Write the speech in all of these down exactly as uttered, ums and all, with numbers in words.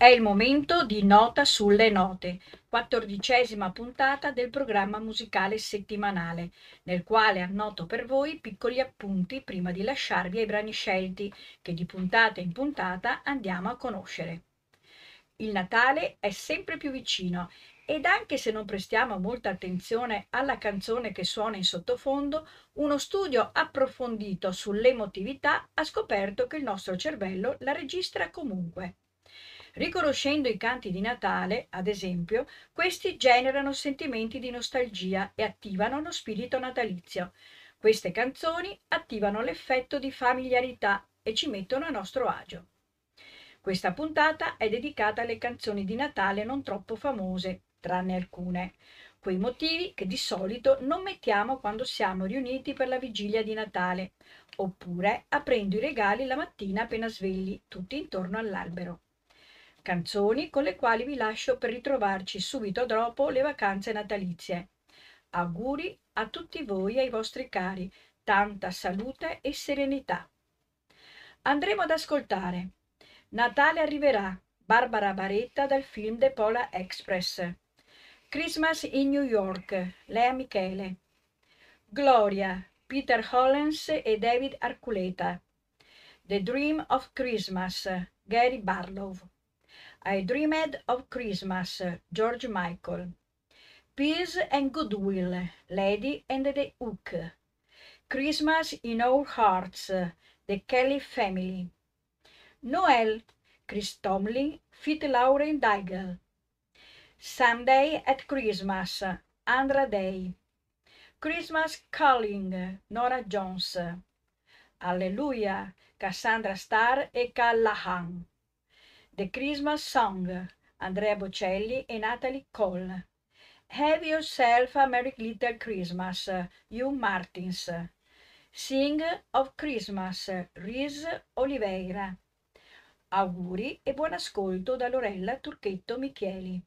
È il momento di Nota sulle note, quattordicesima puntata del programma musicale settimanale, nel quale annoto per voi piccoli appunti prima di lasciarvi ai brani scelti, che di puntata in puntata andiamo a conoscere. Il Natale è sempre più vicino ed anche se non prestiamo molta attenzione alla canzone che suona in sottofondo, uno studio approfondito sull'emotività ha scoperto che il nostro cervello la registra comunque. Riconoscendo i canti di Natale, ad esempio, questi generano sentimenti di nostalgia e attivano lo spirito natalizio. Queste canzoni attivano l'effetto di familiarità e ci mettono a nostro agio. Questa puntata è dedicata alle canzoni di Natale non troppo famose, tranne alcune, quei motivi che di solito non mettiamo quando siamo riuniti per la vigilia di Natale, oppure aprendo i regali la mattina appena svegli, tutti intorno all'albero. Canzoni con le quali vi lascio per ritrovarci subito dopo le vacanze natalizie. Auguri a tutti voi e ai vostri cari, tanta salute e serenità. Andremo ad ascoltare Natale arriverà, Barbara Baretta dal film The Polar Express. Christmas in New York, Lea Michele. Gloria, Peter Hollens e David Arculeta. The Dream of Christmas, Gary Barlow. I Dreamed of Christmas, George Michael. Peace and Goodwill, Lady and the Hook. Christmas in Our Hearts, The Kelly Family. Noel, Chris Tomlin, feat. Lauren Daigle. Sunday at Christmas, Andra Day. Christmas Calling, Nora Jones. Alleluia, Cassandra Starr e Callahan. The Christmas Song, Andrea Bocelli e Natalie Cole. Have Yourself a Merry Little Christmas, Hugh Martins. Sing of Christmas, Reese Oliveira. Auguri e buon ascolto da Lorella Turchetto Michieli.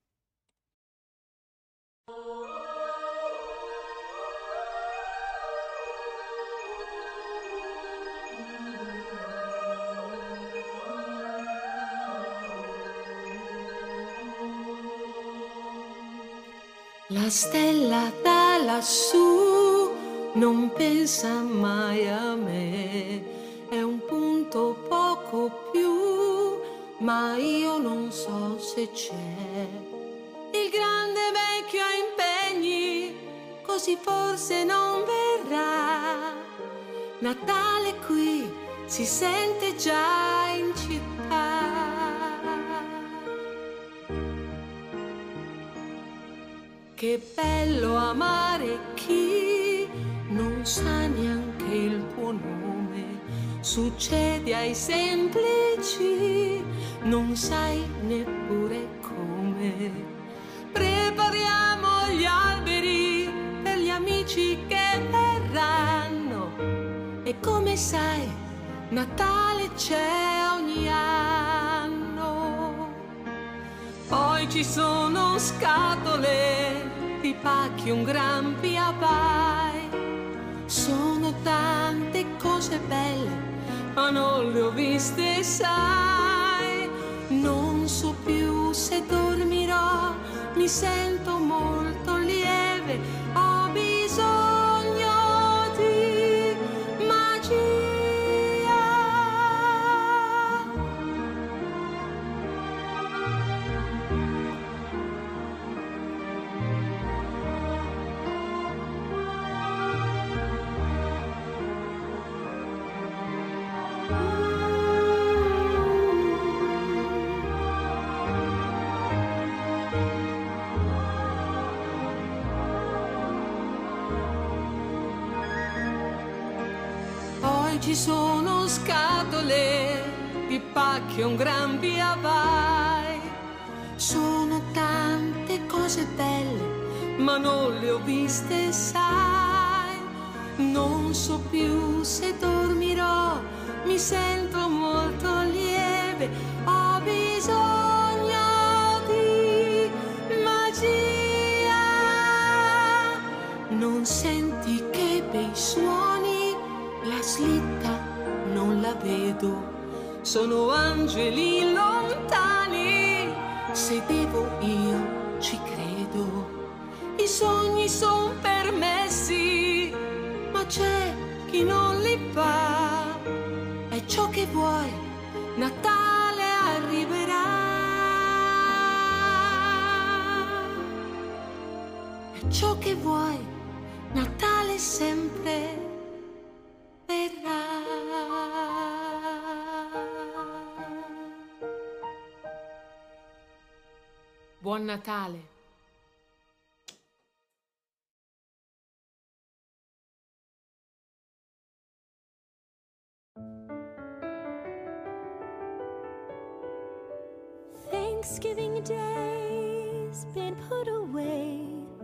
La stella da lassù non pensa mai a me, è un punto poco più, ma io non so se c'è. Il grande vecchio ha impegni, così forse non verrà. Natale qui si sente già in città. Che bello amare chi non sa neanche il tuo nome, succede ai semplici, non sai neppure come. Prepariamo gli alberi per gli amici che verranno e come sai Natale c'è ogni anno. Poi ci sono scatole di pacchi, un gran via vai. Sono tante cose belle, ma non le ho viste, sai. Non so più se dormirò, mi sento molto lieve, ho bisogno di magia. Ci sono scatole di pacchi, un gran via vai. Sono tante cose belle, ma non le ho viste, sai. Non so più se dormirò, mi sento molto lieve, ho bisogno di magia. Non senti che bei suoni? La slitta non la vedo, sono angeli lontani. Se devo io ci credo, i sogni son permessi, ma c'è chi non li fa. È ciò che vuoi, Natale arriverà. È ciò che vuoi, Natale sempre verrà. Buon Natale. Thanksgiving Day's been put away,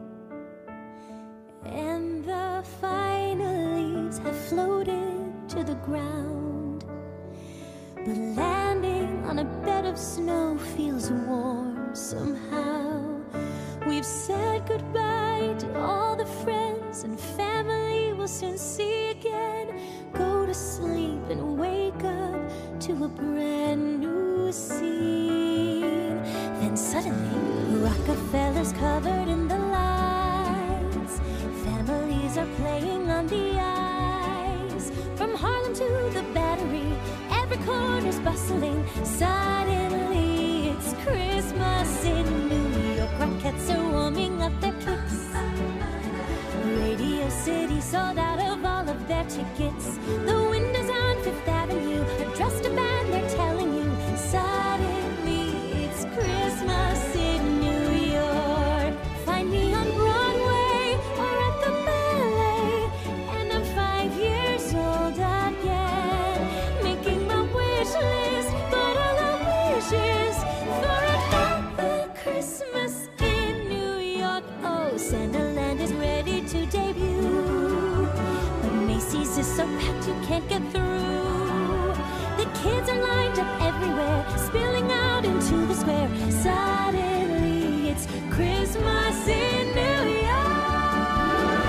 and the final leaves have floated to the ground. But landing on a bed of snow feels warm somehow. We've said goodbye to all the friends and family we'll soon see again. Go to sleep and wake up to a brand new scene. Then suddenly, Rockefeller's covered in the lights. Families are playing on the ice. From Harlem to the Battery, every corner's bustling. Suddenly, it's Christmas in New York. Rockettes are warming up their kicks. Radio City sold out of all of their tickets. The windows on Fifth Avenue are dressed up and they're telling you, suddenly it's Christmas in New York. Find me on Broadway or at the ballet, and I'm five years old again, making my wish list, but all I wish is for another Christmas in New York. Oh, Santaland is ready to debut, but Macy's is so packed you can't get through. The kids are lined up everywhere, spilling out into the square. Suddenly it's Christmas in New York.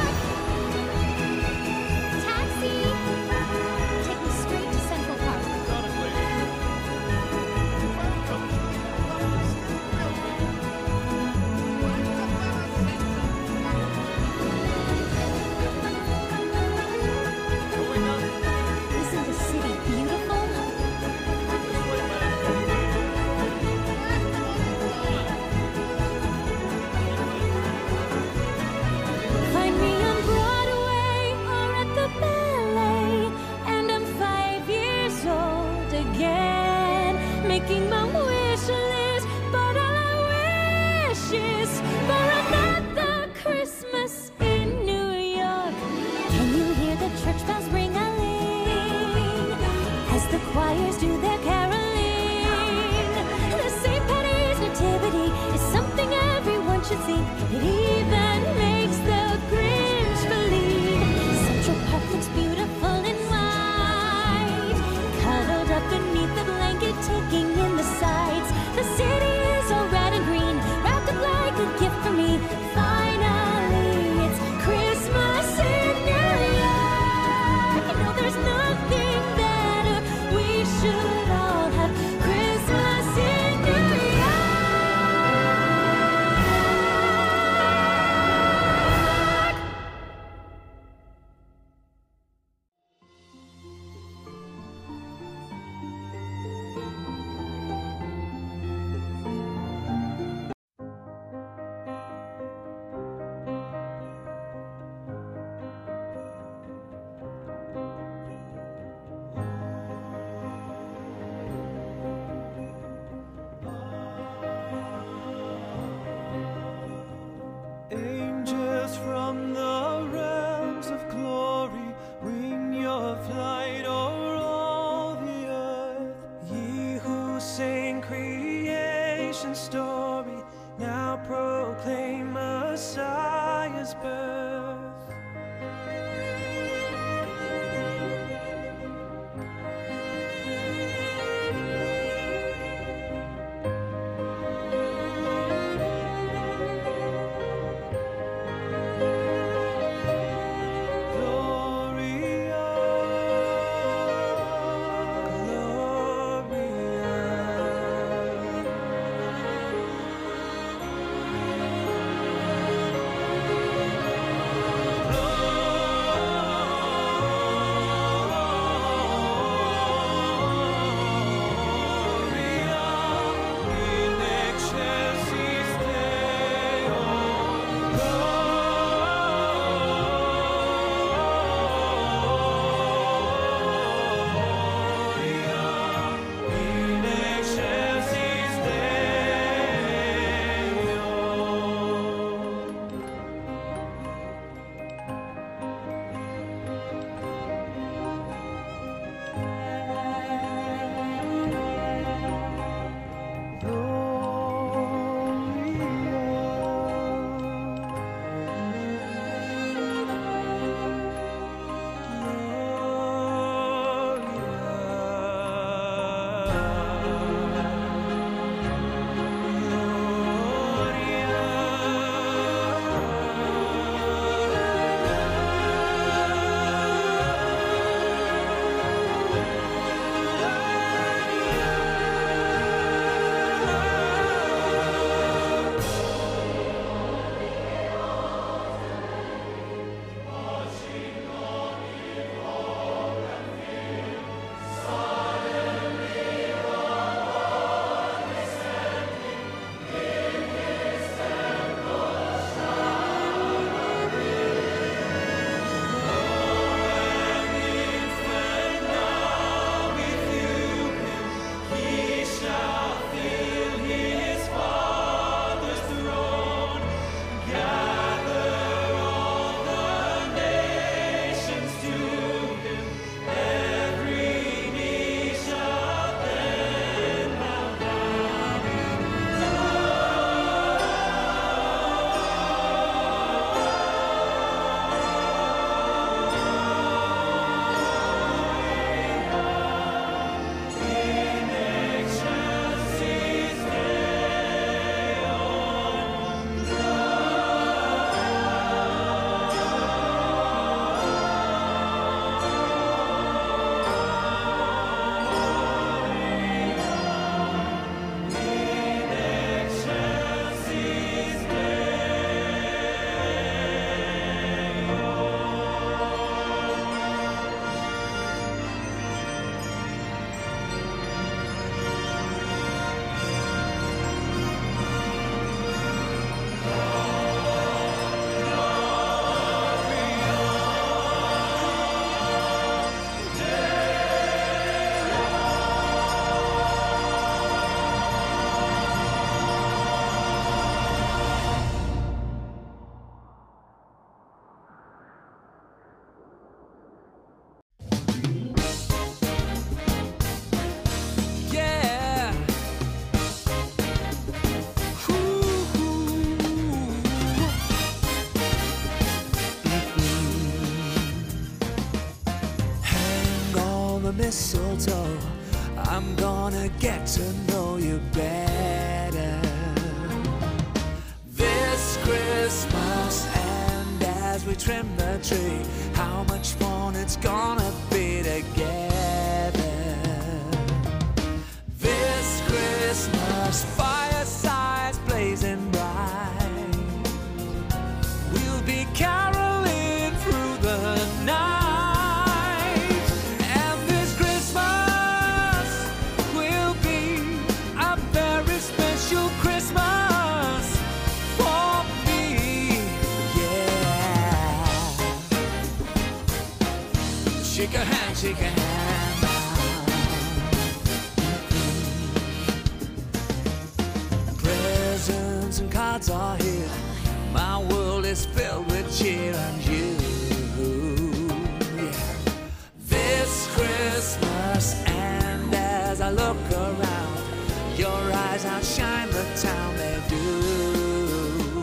Taxi! Take me straight to Central Park. Isn't the city beautiful? Find me on Broadway or at the ballet, and I'm five years old again, making my wish list, but all I wish is for another Christmas in New York. Can you hear the church bells ring-a-ling as the choirs do their caroling? The Saint Patty's Nativity is something everyone should see. It even makes the Grinch believe. Central Park looks beautiful in white, cuddled up beneath the blanket, taking in the sights. The city is all red and green, wrapped up like a gift for me. Finally, it's Christmas in New York. You know, there's nothing better. We should all have Christmas in New York. Angels from the realms of glory, wing your flight o'er all the earth. Ye who sing creation's story, now proclaim Messiah's birth. Gloria, wanna get to know you better this Christmas. And as we trim the tree, how much fun it's gonna be together this Christmas. Firesides blazing bright, we'll be caroling through the night. And this Christmas will be a very special Christmas for me, yeah. Shake a hand, shake a hand now. Presents and cards are here, my world is filled with cheer and you, yeah. This Christmas, and as I look around, your eyes outshine the town, they do.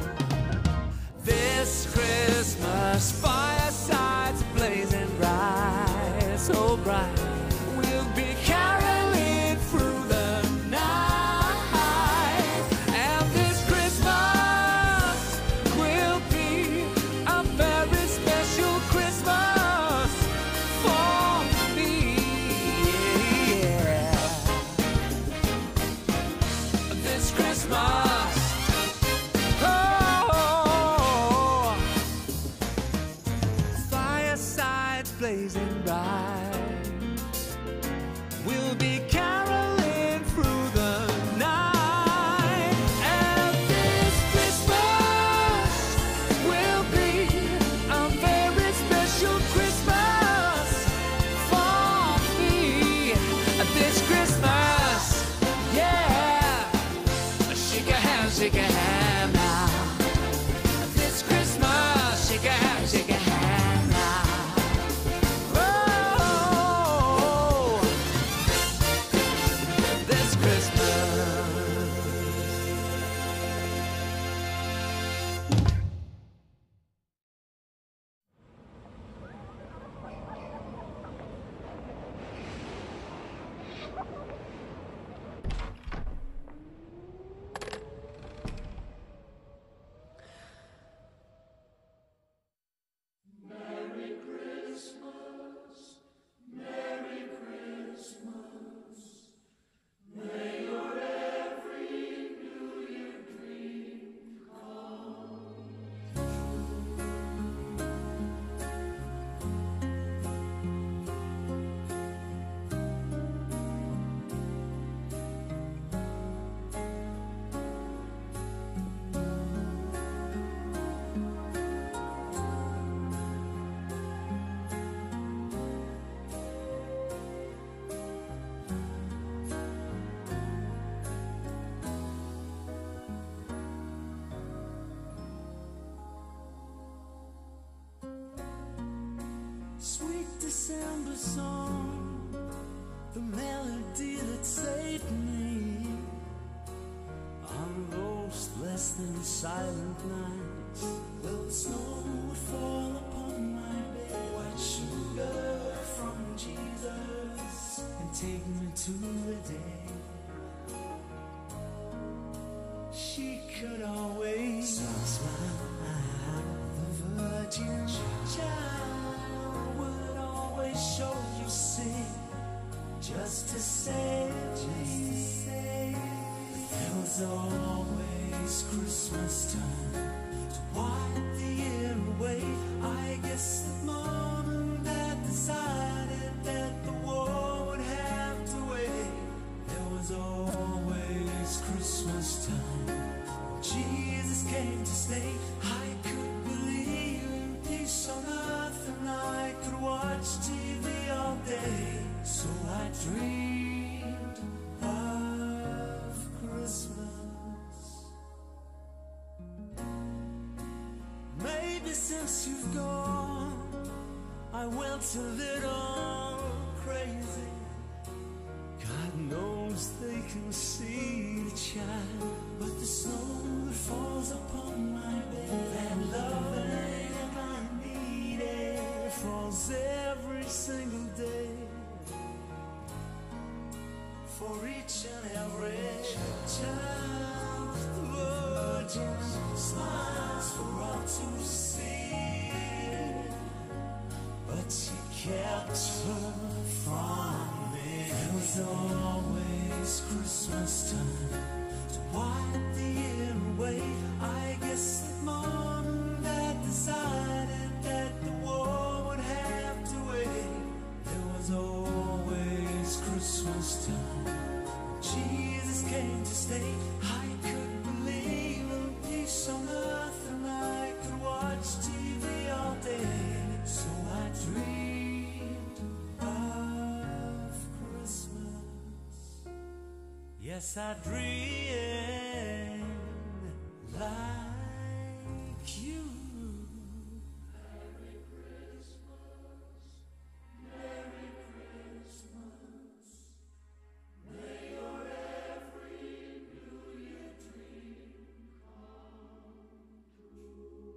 This Christmas, firesides blazing bright, so bright, we'll be caroling through the night. And this Christmas will be a very special Christmas for me, yeah. This Christmas, oh, firesides blazing bright, we'll be caroling through the night. And this Christmas will be a very special Christmas for me. This Christmas, yeah. Shake a hand, shake a hand now. This Christmas, shake a hand, shake a hand now. Oh, this Christmas. Sweet December song, the melody that saved me on those less than silent nights. Well, the snow would fall upon my bed, white sugar from Jesus, and take me to the day she could always smile. The virgin child would always show you sin, just to save me. There was always Christmas time to wipe the year away. I guess that mom and dad decided that the war would have to wait. There was always Christmas time when Jesus came to stay. I could believe in peace on earth, and I could watch T V all day. So I dreamed of Christmas. Maybe since you've gone, I went a little crazy. God knows they can see the child, but the snow that falls upon my bed, that loving I needed, falls every single day. for each and every child. The Virgin smiles for all to see, but she kept her from me. It was always Christmas time to wipe the year away. I guess the morning that decided that the war would have to wait. There was always Christmas time. Jesus came to stay. I couldn't believe in peace on earth, and I could watch T V all day. So I dreamed of Christmas. Yes, I dreamed like you. Merry Christmas, Merry Christmas. May your every New Year dream come true.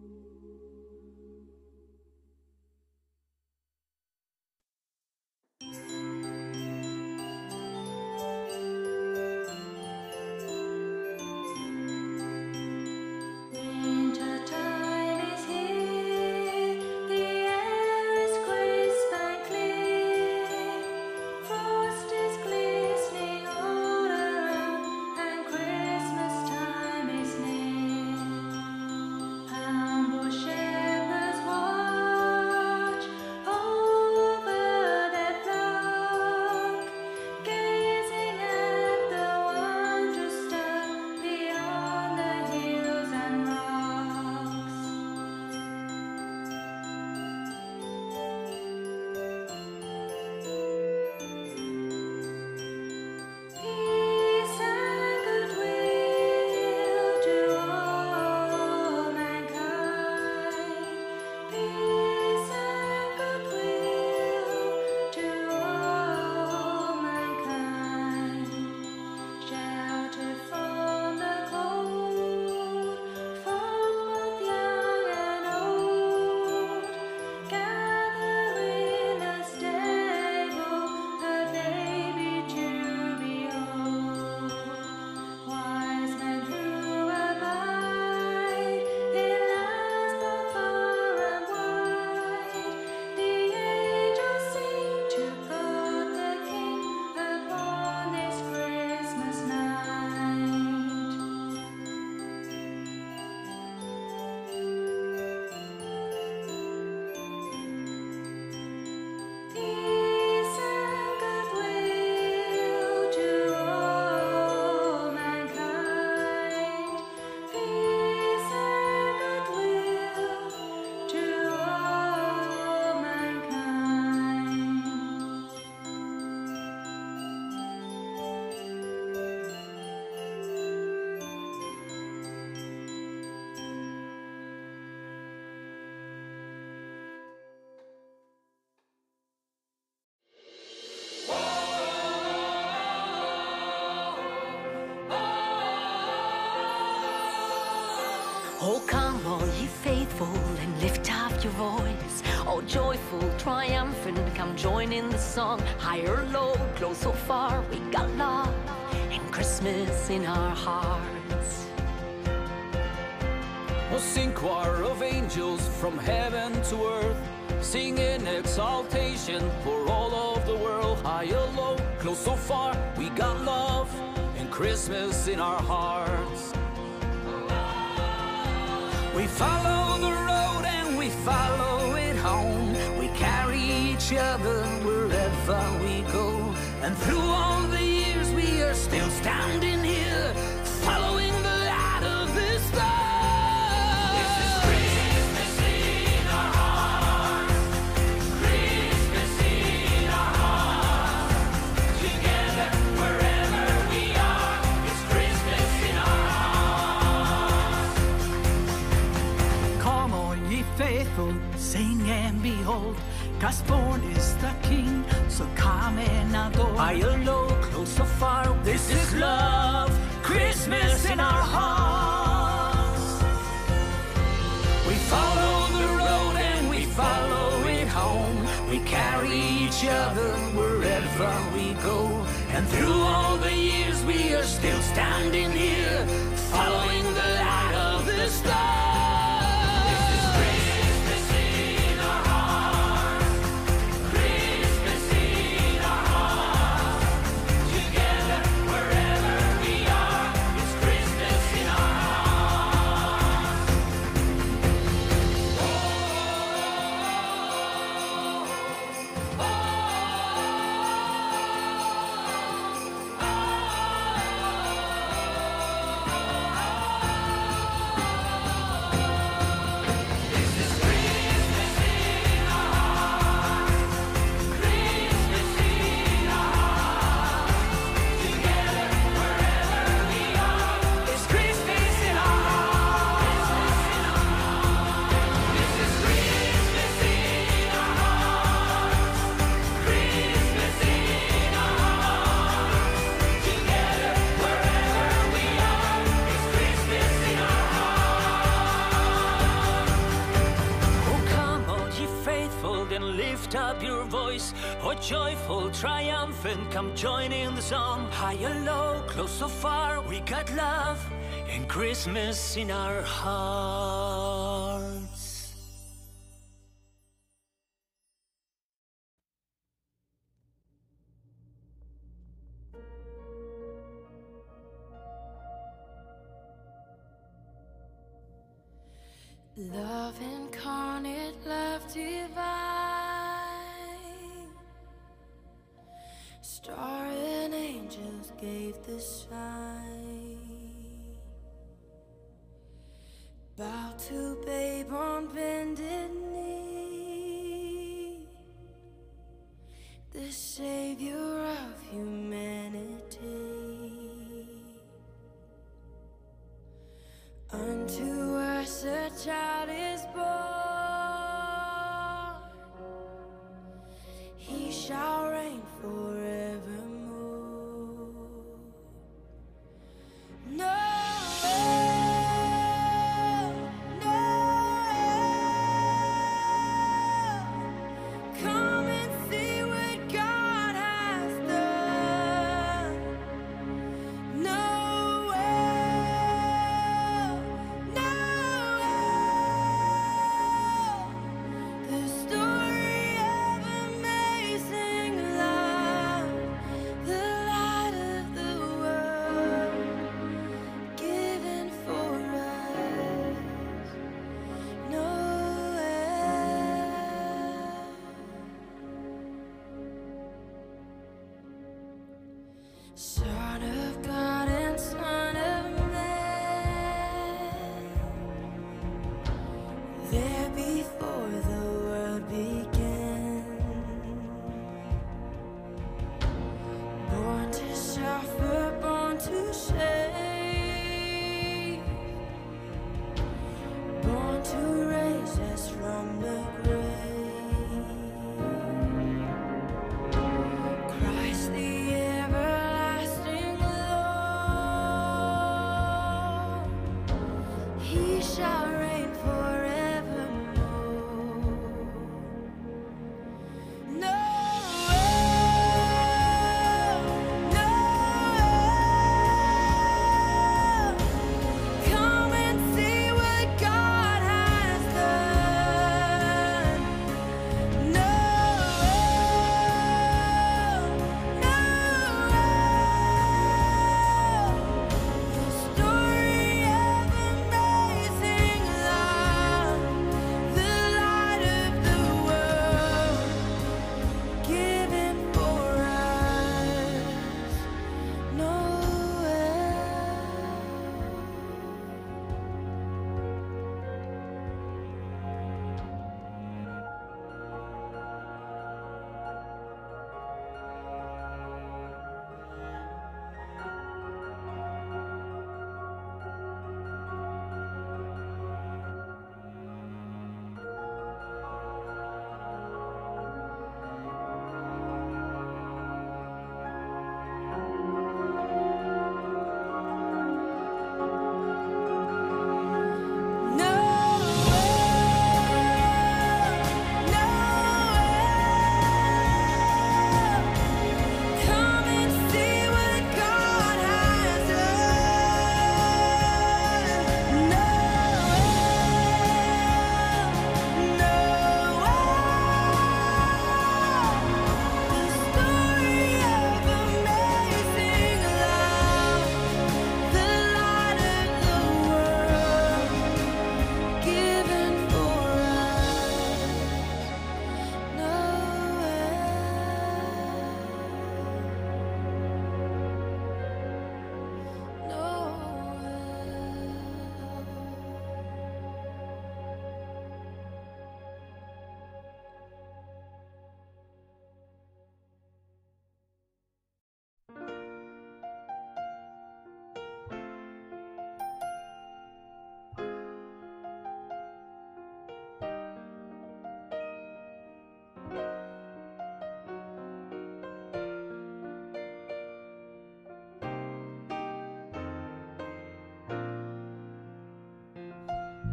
Wintertime is here, the air is crisp and clear. Frost is glistening all around, and Christmas time is near. Humble shepherds watch over their flock, gazing at the wondrous star beyond the hills and rocks. Peace and goodwill to all mankind. Peace and goodwill to all mankind. Shelter from the cold, from both young and old. Gather in a stable, the baby to behold. Wise men who abide in lands both far and wide, the angels sing to God the King upon this Christmas night. Peace and goodwill to all mankind. Peace and goodwill to all mankind. Oh, come, all ye faithful, and lift up your voice. All joyful, triumphant, come join in the song. High or low, close or far, we got love and Christmas in our hearts. Oh, sing choir of angels from heaven to earth, sing in exaltation for all of the world. High or low, close or far, we got love and Christmas in our hearts. We follow the road and we follow it home. We carry each other wherever we go. And through all the years we are still standing here, following the light of the star. This is Christmas in our hearts. Christmas in our hearts. Together wherever we are, it's Christmas in our hearts. Come all ye faithful, sing and behold, Christ born is the King, so come and adore. High or low, close or far, this is love, Christmas in our hearts. We follow the road and we follow it home. We carry each other wherever we go. And And through all the years we are still standing here, following the light of the stars. Oh, joyful, triumphant, come join in the song. High or low, close or far, we got love and Christmas in our hearts. Love incarnate, love divine, star and angels gave the sign. Bow to babe on bended knee, the savior of humanity. Unto us a child is born, he shall reign forevermore. No, no,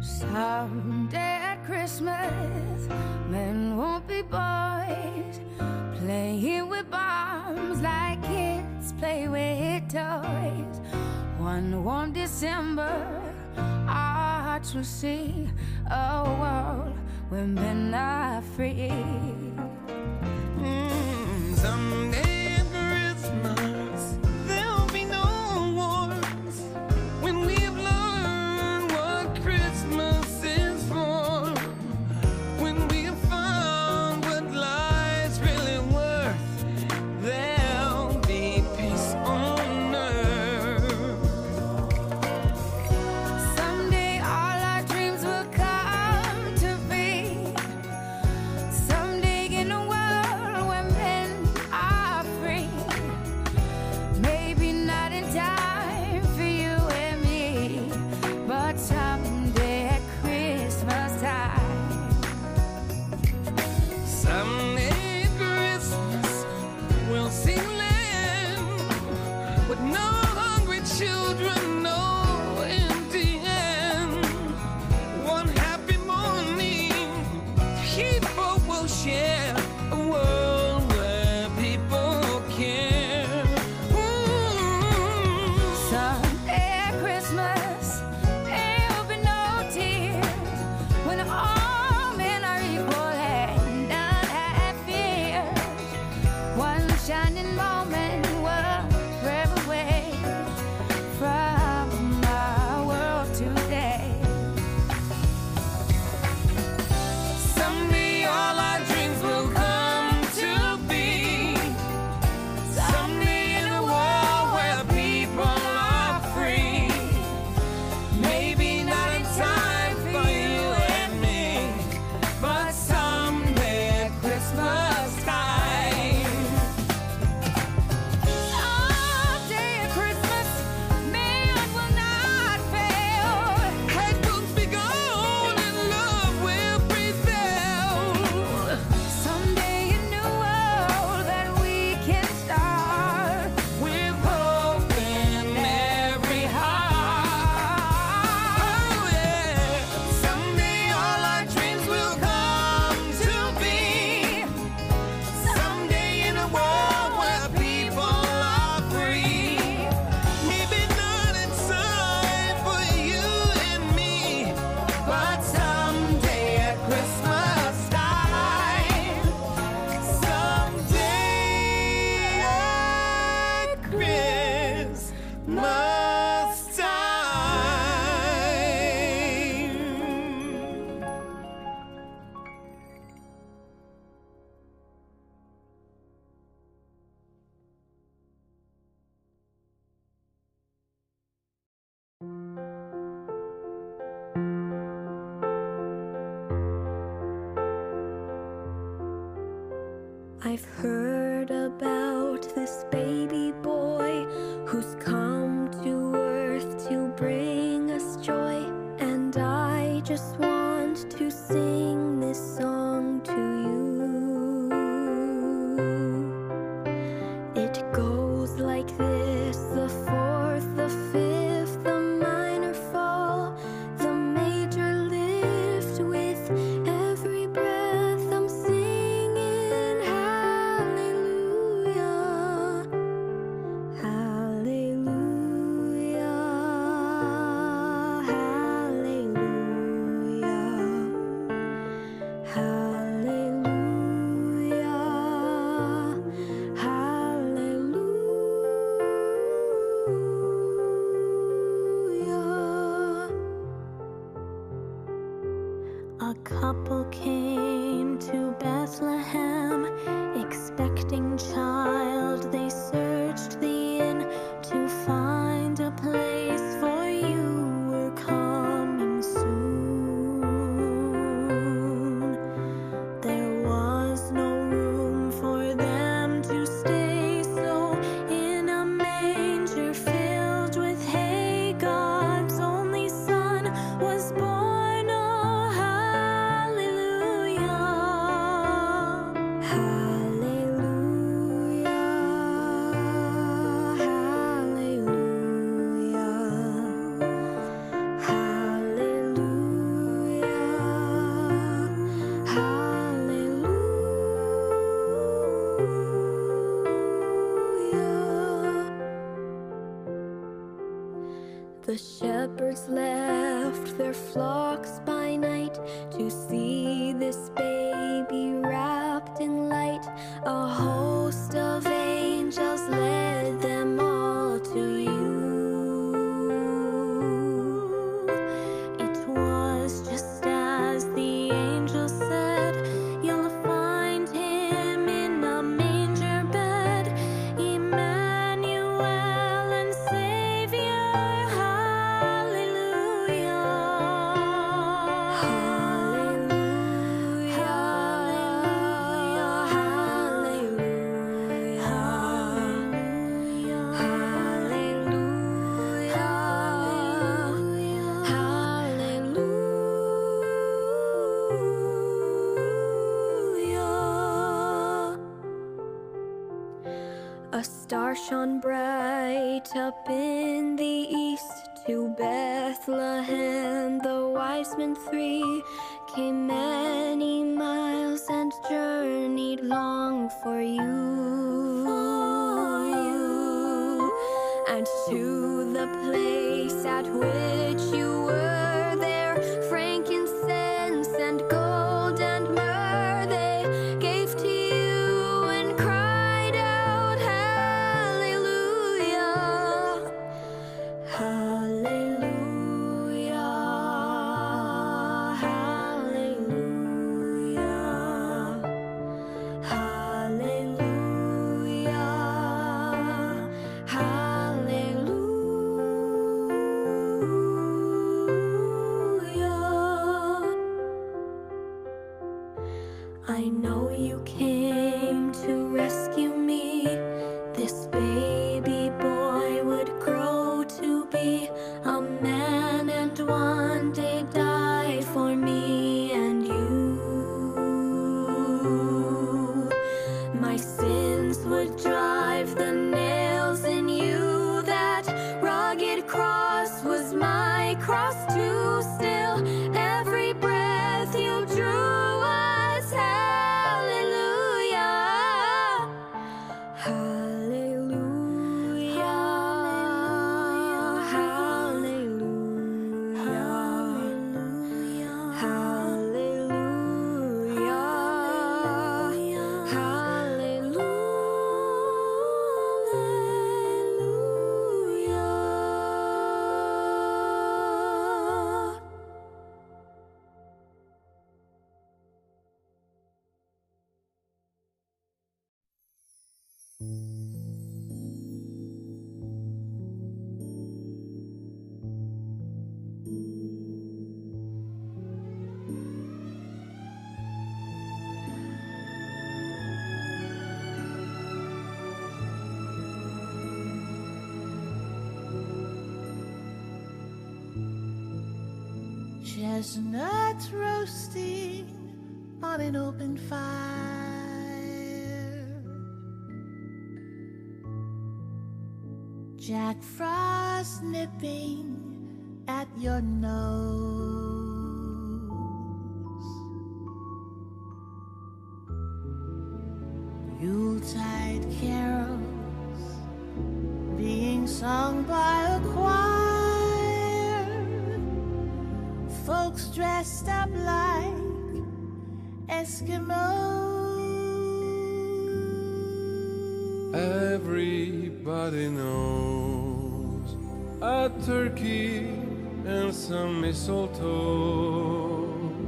Someday at Christmas, men won't be boys, playing with bombs like kids play with toys. One warm December, our hearts will see a world where men are free. Mm, someday at Christmas, there'll be no wars when we've learned what Christmas is for. When we've found what life's really worth, there'll be peace on earth. Someday all our dreams will come to be. Someday in a world where men are free. Maybe not in time for you and me, but someday at Christmas time. Someday at Christmas, we'll see land with no hungry children, no empty hand. One happy morning, people will share a world where people care. Ooh. Someday at Christmas, there'll be no tears when all men are equal and none have fears. One shining moment will drive away from our world today. Someday all our dreams will come to be. Someday in a world where people are free. Maybe not in time for you and me, but someday at Christmas time. Someday at Christmas, man will not fail. Hate will be gone and love will prevail. Someday a new world that we can start. With hope in every heart. Oh yeah. Someday all our dreams will come to be. Someday in a world where people are free. Maybe not in time for you and me, but someday at Christmas time. Someday at Christmas time. I've heard about this baby boy who's come to earth to bring us joy, and I just want to sing this song to you. It goes like this: the fourth, the fifth, the minor fall, the major lift. With every breath I'm singing hallelujah. The shepherds left their flocks by night to see this baby wrapped in light. A host of angels led them all to you. It was just as the angel said, you'll find him in a manger bed, Emmanuel and Savior. A star shone bright up in the east. To Bethlehem the wise men three came many miles and journeyed long for you, for you. And to the place at which you were there, frankincense and gold and myrrh they gave to you and cried out, Hallelujah, Hallelujah, Hallelujah, Hallelujah, Hallelujah. I know you came to rescue me. This baby boy would grow to be a man and one day die for me and you. My sins would drive the nails in you. That rugged cross was my cross too. Still, every breath you drew was hallelujah, hallelujah, hallelujah, hallelujah, hallelujah. Chestnuts roasting on an open fire, Jack Frost nipping at your nose, Yuletide carols being sung by a choir, folks dressed up like Eskimos. Everybody knows a turkey and some mistletoe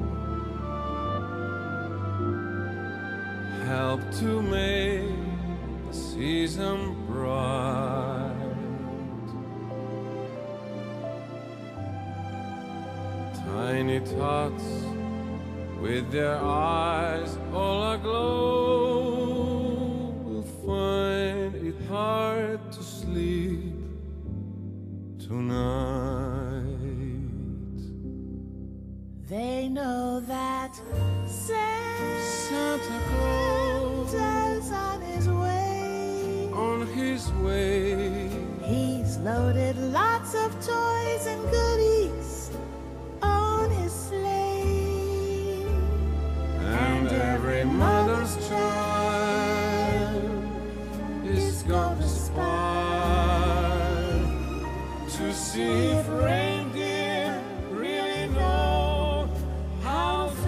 help to make the season bright. Tiny tots with their eyes all aglow will find it hard to sleep tonight. They know that Santa Claus Santa's on his way. on his way. He's loaded lots of toys and goodies on his sleigh. And every mother's child is gonna spy to see if reindeer really know how to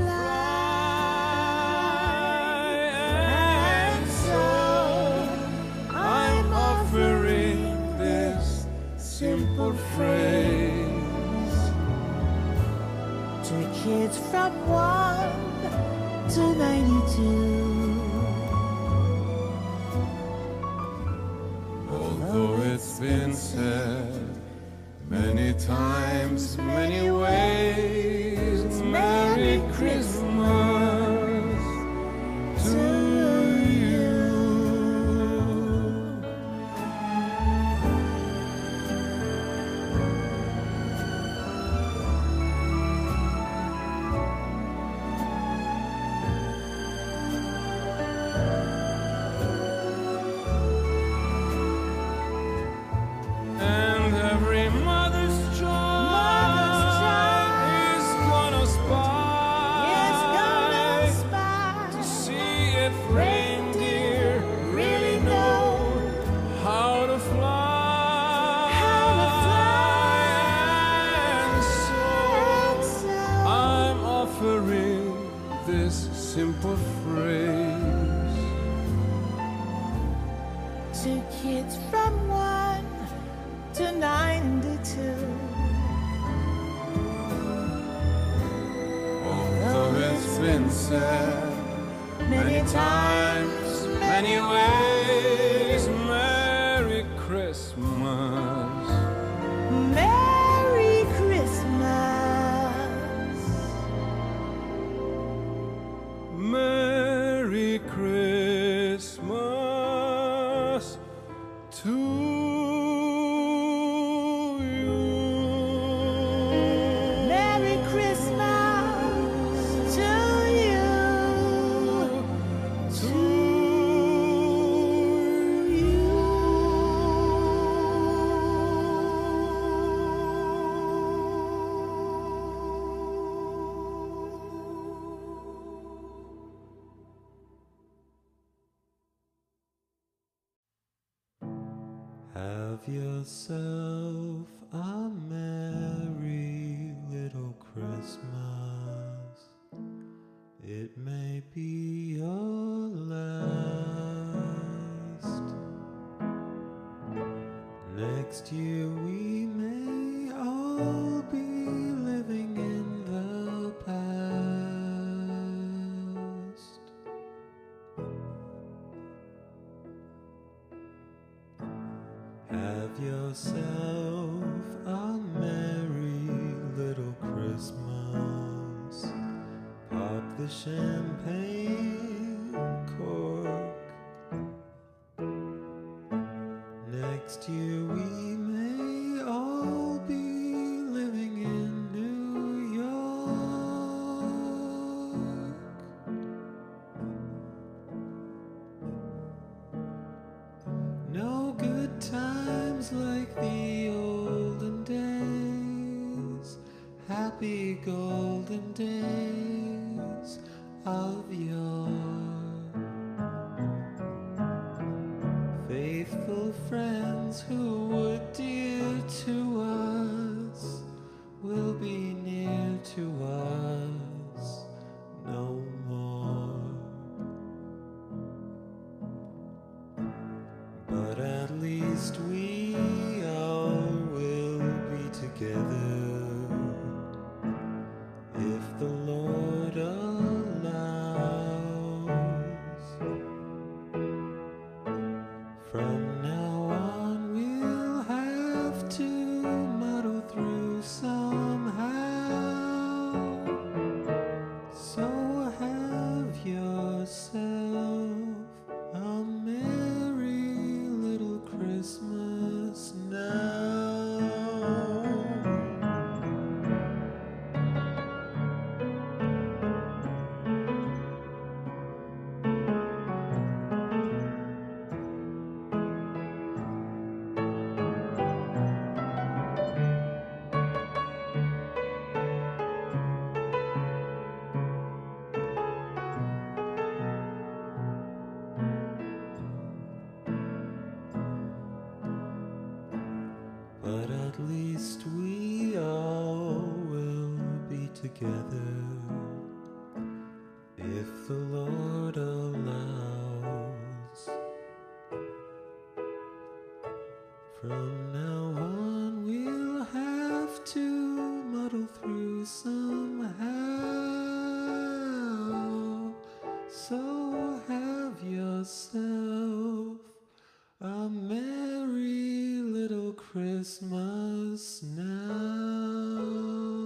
fly. And so I'm offering this simple phrase to kids from one to ninety-two. Although it's been said many times, many ways, Merry Christmas to you. And every mother's child is gonna spy to see if reindeer really know how to fly. And so I'm offering this simple phrase To kids from one to ninety-two. Although it's been said many times, many ways, Merry Christmas. Merry Christmas. Merry Christmas to you. Merry Christmas to you. To Have yourself a merry little Christmas. It may be your last. Next year we may all be living in the past. Have yourself a merry little Christmas. Pop the champagne cork. Next year we may all be living in New York. No good times like the olden days, happy golden days of yore. Faithful friends who were dear to us will be near to us no more. But at least we all will be together if the Lord allows. From now on we'll have to muddle through somehow. So have yourself a merry little Christmas now. at least we all will be together if the Lord allows. From now on we'll have to muddle through somehow, so have yourself a merry little Christmas now.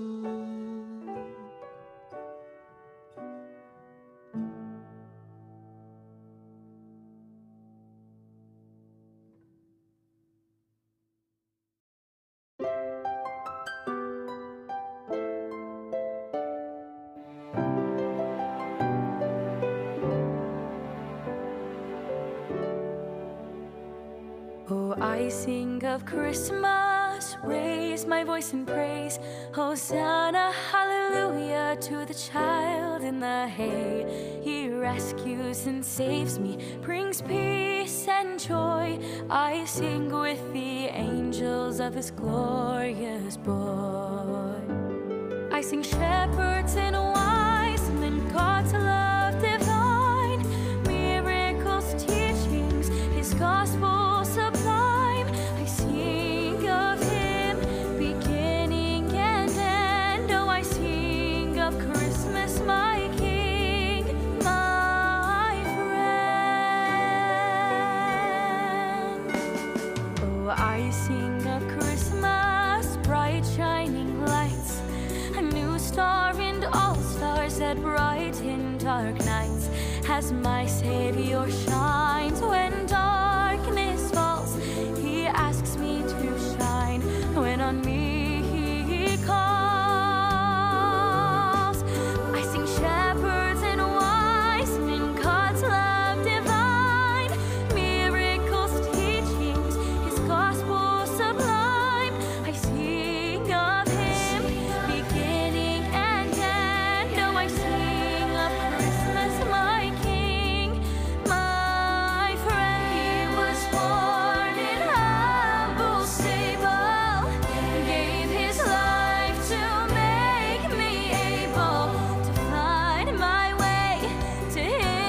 Oh, I sing of Christmas, raise my voice in praise. Hosanna, hallelujah, to the child in the hay. He rescues and saves me, brings peace and joy. I sing with the angels of his glorious boy. I sing shepherds and wise men, God's love divine, miracles, teachings, his gospel sublime. I sing of him, beginning and end. Oh, I sing of Christmas, my King, my friend. Oh, I sing of Christmas, bright shining lights, a new star and all stars that brighten dark nights, as my Savior shines when darkness falls. He asks me to shine when on me he calls. I sing shepherds and wise men, God's love divine, miracles, teachings, his gospel sublime. I sing of him, beginning and end. Oh, I sing of Christmas, my King, my friend. He was born in humble stable, gave his life to make me able to find my way to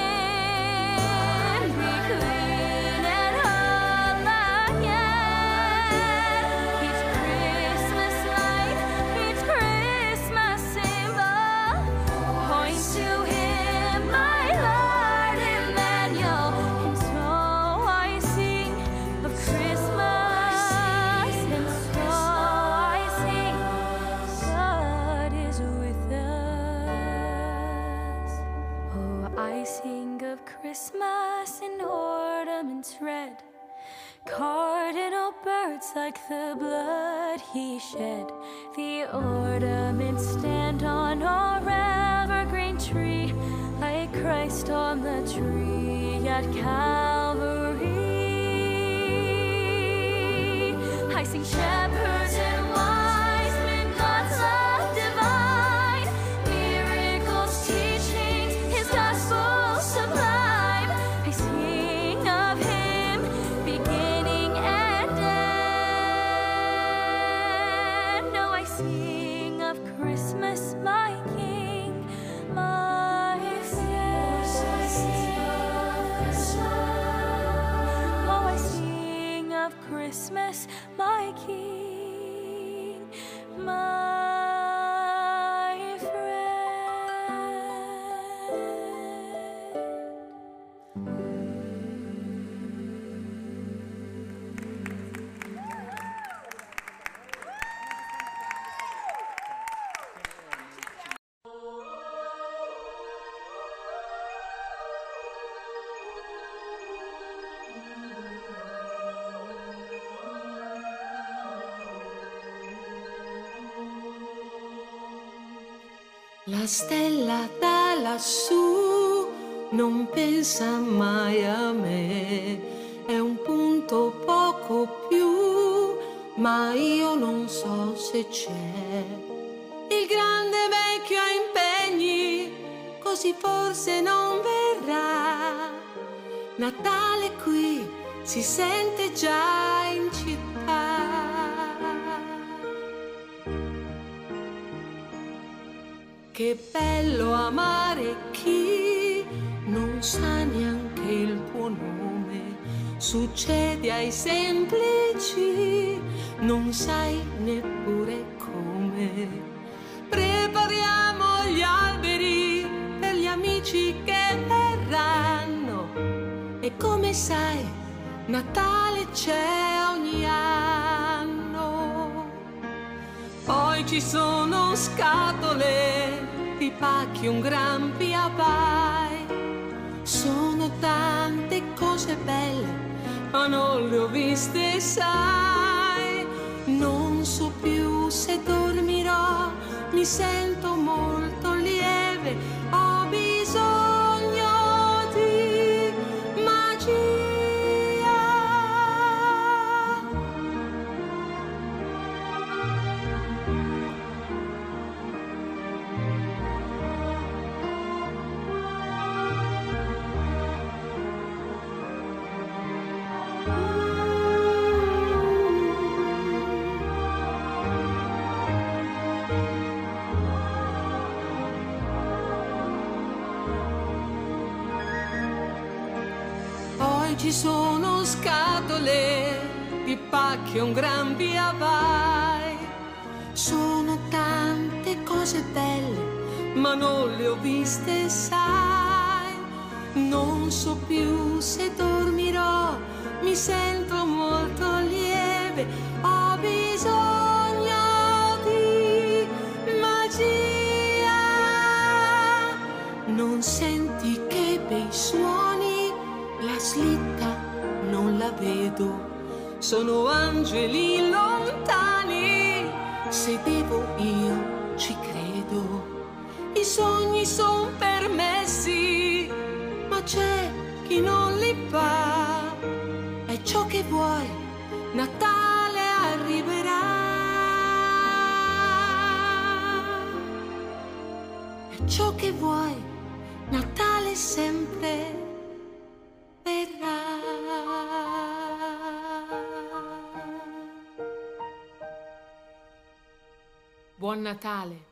him, be clean and whole again. Each Christmas night, each Christmas symbol points to him, my Lord Emmanuel. And so I sing of Christmas, and so I sing, God is with us. Oh, I sing of Christmas in ornaments red, cardinal birds like the blood he shed. The ornaments stand on our evergreen tree, like Christ on the tree at Calvary. I sing shepherds and wise men, God's love divine, miracles, teachings, his gospel sublime. I sing of him, beginning and end. Oh, I sing of Christmas, my King, my friend. Oh, I sing of Christmas, my King, my friend. La stella da lassù non pensa mai a me, è un punto poco più, ma io non so se c'è. Il grande vecchio ha impegni, così forse non verrà. Natale qui si sente già in città. Che bello amare chi non sa neanche il tuo nome. Succede ai semplici, non sai neppure come. Prepariamo gli alberi per gli amici che verranno. E come sai, Natale c'è ogni anno. Poi ci sono scatole di pacchi, un gran via vai. Sono tante cose belle, ma non le ho viste, sai. Non so più se dormirò, mi sento molto lieve, ho bisogno di magia. Ci sono scatole di pacchi, un gran via vai. Sono tante cose belle, ma non le ho viste, sai. Non so più se dormirò, mi sento molto lieve, ho bisogno di magia. Non senti che bei suoni? La slitta non la vedo, sono angeli lontani, se devo io ci credo. I sogni son permessi, ma c'è chi non li fa. È ciò che vuoi, Natale arriverà. È ciò che vuoi, Natale sempre verrà. Buon Natale.